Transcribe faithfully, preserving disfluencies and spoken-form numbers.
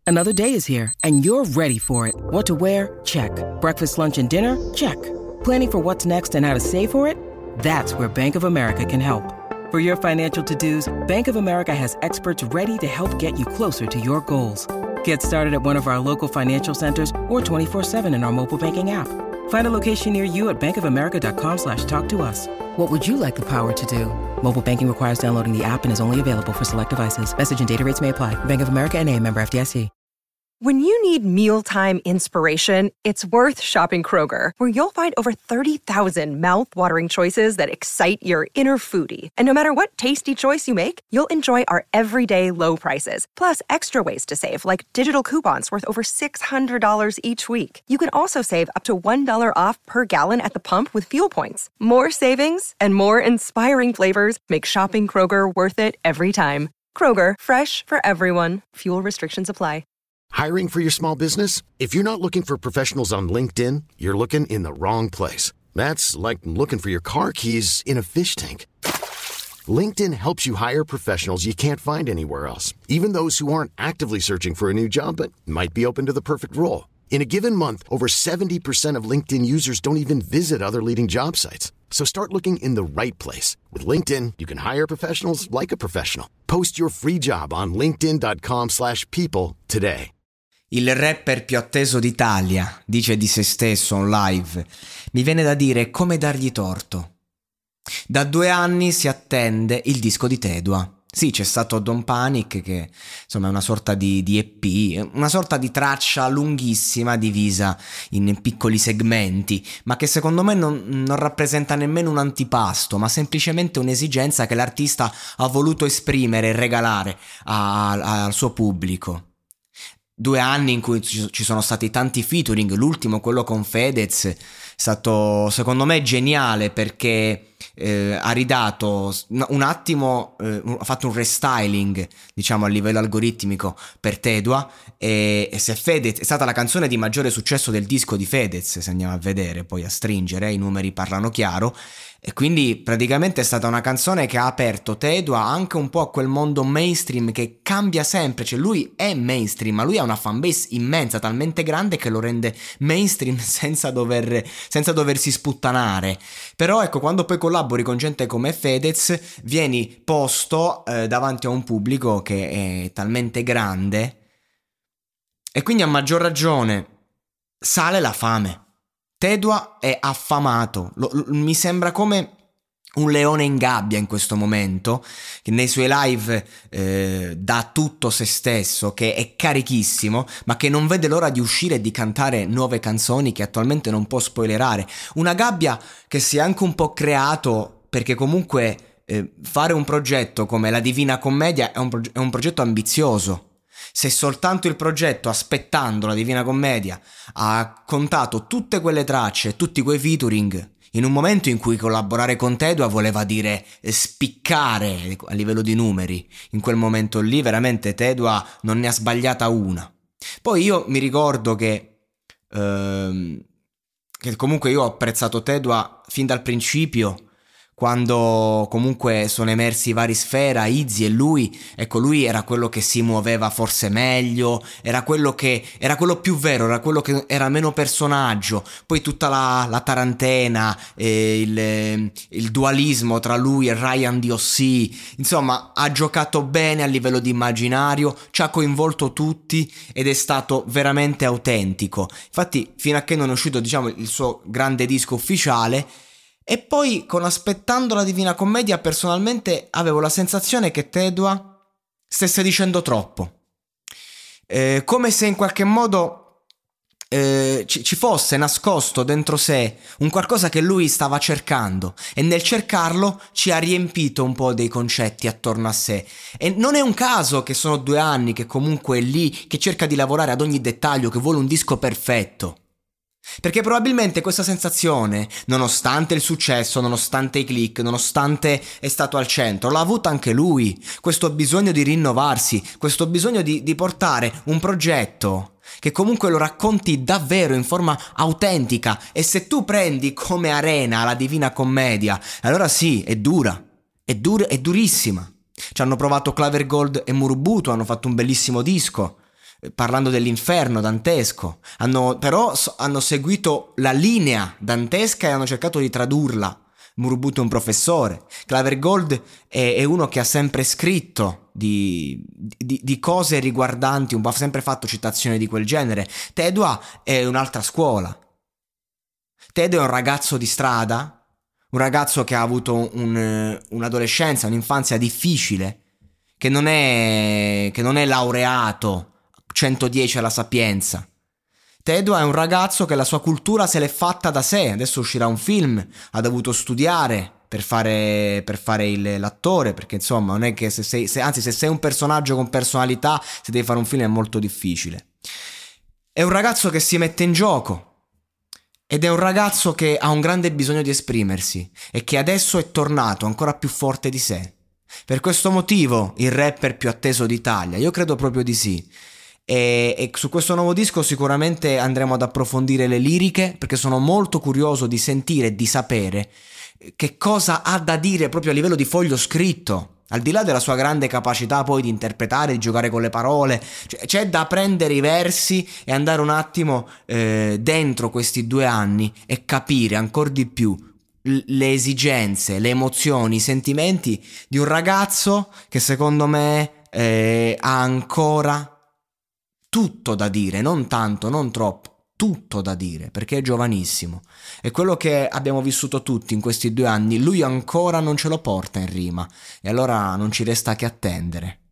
Another day is here, and you're ready for it. What to wear? Check. Breakfast, lunch, and dinner? Check. Planning for what's next and how to save for it? That's where Bank of America can help. For your financial to-dos, Bank of America has experts ready to help get you closer to your goals. Get started at one of our local financial centers or twenty-four seven in our mobile banking app. Find a location near you at bankofamerica.com slash talk to us. What would you like the power to do? Mobile banking requires downloading the app and is only available for select devices. Message and data rates may apply. Bank of America N A, member F D I C. When you need mealtime inspiration, it's worth shopping Kroger, where you'll find over thirty thousand mouth-watering choices that excite your inner foodie. And no matter what tasty choice you make, you'll enjoy our everyday low prices, plus extra ways to save, like digital coupons worth over six hundred dollars each week. You can also save up to one dollar off per gallon at the pump with fuel points. More savings and more inspiring flavors make shopping Kroger worth it every time. Kroger, fresh for everyone. Fuel restrictions apply. Hiring for your small business? If you're not looking for professionals on LinkedIn, you're looking in the wrong place. That's like looking for your car keys in a fish tank. LinkedIn helps you hire professionals you can't find anywhere else, even those who aren't actively searching for a new job but might be open to the perfect role. In a given month, over seventy percent of LinkedIn users don't even visit other leading job sites. So start looking in the right place. With LinkedIn, you can hire professionals like a professional. Post your free job on linkedin.com slash people today. Il rapper più atteso d'Italia dice di se stesso on live: mi viene da dire come dargli torto. Da due anni si attende il disco di Tedua. Sì, c'è stato Don't Panic, che insomma è una sorta di, di E P, una sorta di traccia lunghissima divisa in piccoli segmenti, ma che secondo me non, non rappresenta nemmeno un antipasto, ma semplicemente un'esigenza che l'artista ha voluto esprimere e regalare a, a, al suo pubblico. Due anni in cui ci sono stati tanti featuring, l'ultimo, quello con Fedez, è stato secondo me geniale, perché eh, ha ridato un attimo, eh, ha fatto un restyling diciamo a livello algoritmico per Tedua, e, e se Fedez è stata la canzone di maggiore successo del disco di Fedez, se andiamo a vedere poi a stringere, i numeri parlano chiaro. E quindi praticamente è stata una canzone che ha aperto Tedua anche un po' a quel mondo mainstream che cambia sempre, cioè lui è mainstream ma lui ha una fanbase immensa, talmente grande che lo rende mainstream senza dover senza doversi sputtanare. Però ecco, quando poi collabori con gente come Fedez vieni posto eh, davanti a un pubblico che è talmente grande, e quindi a maggior ragione sale la fame. Tedua è affamato, lo, lo, mi sembra come un leone in gabbia in questo momento, che nei suoi live eh, dà tutto se stesso, che è carichissimo, ma che non vede l'ora di uscire e di cantare nuove canzoni che attualmente non può spoilerare. Una gabbia che si è anche un po' creato perché comunque eh, fare un progetto come la Divina Commedia è un, proge- è un progetto ambizioso. Se soltanto il progetto, aspettando la Divina Commedia, ha contato tutte quelle tracce, tutti quei featuring, in un momento in cui collaborare con Tedua voleva dire spiccare a livello di numeri, in quel momento lì veramente Tedua non ne ha sbagliata una. Poi io mi ricordo che, ehm, che comunque io ho apprezzato Tedua fin dal principio, quando comunque sono emersi i vari Sfera, Izzy e lui. Ecco, lui era quello che si muoveva forse meglio, era quello che era quello più vero, era quello che era meno personaggio. Poi tutta la, la tarantena, eh, il, il dualismo tra lui e Ryan D O C, insomma ha giocato bene a livello di immaginario, ci ha coinvolto tutti ed è stato veramente autentico. Infatti fino a che non è uscito diciamo il suo grande disco ufficiale. E poi con Aspettando la Divina Commedia personalmente avevo la sensazione che Tedua stesse dicendo troppo, eh, come se in qualche modo eh, ci, ci fosse nascosto dentro sé un qualcosa che lui stava cercando, e nel cercarlo ci ha riempito un po' dei concetti attorno a sé. E non è un caso che sono due anni che comunque è lì, che cerca di lavorare ad ogni dettaglio, che vuole un disco perfetto. Perché probabilmente questa sensazione, nonostante il successo, nonostante i click, nonostante è stato al centro, l'ha avuta anche lui. Questo bisogno di rinnovarsi, questo bisogno di, di portare un progetto che comunque lo racconti davvero in forma autentica. E se tu prendi come arena la Divina Commedia, allora sì, è dura, è dura, è durissima. Ci hanno provato Claver Gold e Murubutu, hanno fatto un bellissimo disco. parlando dell'inferno dantesco, hanno, però so, hanno seguito la linea dantesca e hanno cercato di tradurla. Murubutu è un professore, Clive Gold è, è uno che ha sempre scritto di, di, di cose riguardanti, un po' ha sempre fatto citazioni di quel genere. Tedua è un'altra scuola. Tedua è un ragazzo di strada, un ragazzo che ha avuto un, un'adolescenza, un'infanzia difficile, che non è, che non è laureato centodieci alla Sapienza. Tedua è un ragazzo che la sua cultura se l'è fatta da sé. Adesso uscirà un film, ha dovuto studiare per fare, per fare il, l'attore, perché insomma non è che se sei, se, anzi se sei un personaggio con personalità, se devi fare un film è molto difficile. È un ragazzo che si mette in gioco ed è un ragazzo che ha un grande bisogno di esprimersi e che adesso è tornato ancora più forte di sé. Per questo motivo il rapper più atteso d'Italia, io credo proprio di sì. E, e su questo nuovo disco sicuramente andremo ad approfondire le liriche, perché sono molto curioso di sentire e di sapere che cosa ha da dire proprio a livello di foglio scritto, al di là della sua grande capacità poi di interpretare, di giocare con le parole. Cioè, c'è da prendere i versi e andare un attimo eh, dentro questi due anni e capire ancora di più l- le esigenze, le emozioni, i sentimenti di un ragazzo che secondo me eh, ha ancora tutto da dire, non tanto, non troppo, tutto da dire, perché è giovanissimo. E quello che abbiamo vissuto tutti in questi due anni, lui ancora non ce lo porta in rima, e allora non ci resta che attendere.